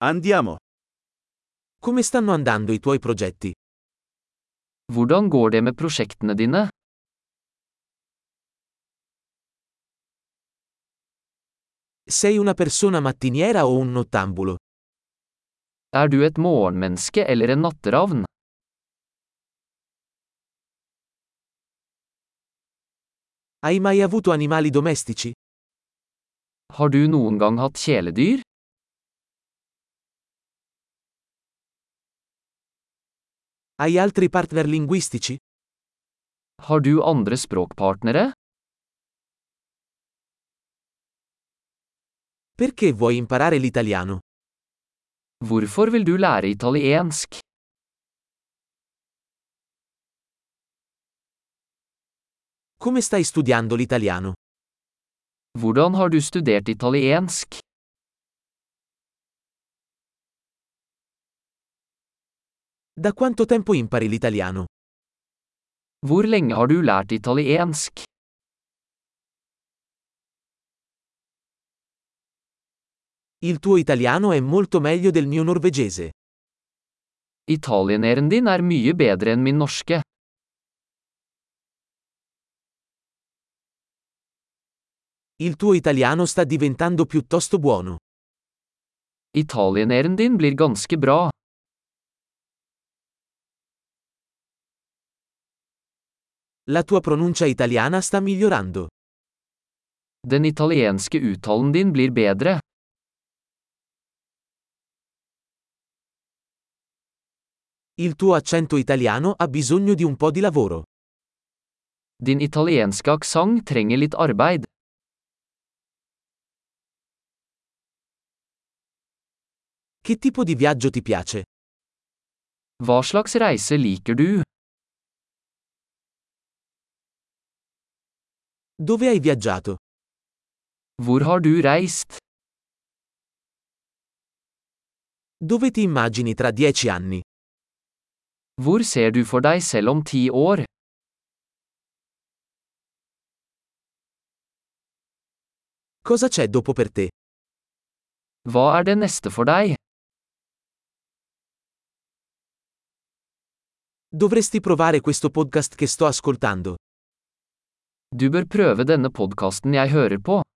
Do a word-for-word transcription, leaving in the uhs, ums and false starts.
Andiamo. Come stanno andando i tuoi progetti? Hvordan går det med prosjektene dine? Sei una persona mattiniera o un nottambulo? Er du et morgenmenneske eller en natteravn? Hai mai avuto animali domestici? Har du noen gang hatt kjæledyr? Hai altri partner linguistici? Har du andre språkpartnere? Perché vuoi imparare l'italiano? Hvorfor vil du lære italiensk? Come stai studiando l'italiano? Hvordan har du studert italiensk? Da quanto tempo impari l'italiano? Hvor lenge har du lært italiensk? Il tuo italiano è molto meglio del mio norvegese. Italieneren din er mye bedre enn min norske. Il tuo italiano sta diventando piuttosto buono. Italieneren din blir ganske bra. La tua pronuncia italiana sta migliorando. Den italienske uttalen din blir bedre. Il tuo accento italiano ha bisogno di un po' di lavoro. Din italienske aksent trenger litt arbeid. Che tipo di viaggio ti piace? Hva slags reise liker du? Dove hai viaggiato? Hvor har du reist? Dove ti immagini tra dieci anni? Hvor ser du for deg selv om ti år? Cosa c'è dopo per te? Hva er det neste for deg? Dovresti provare questo podcast che sto ascoltando. Du bør prøve denne podkasten jeg hører på.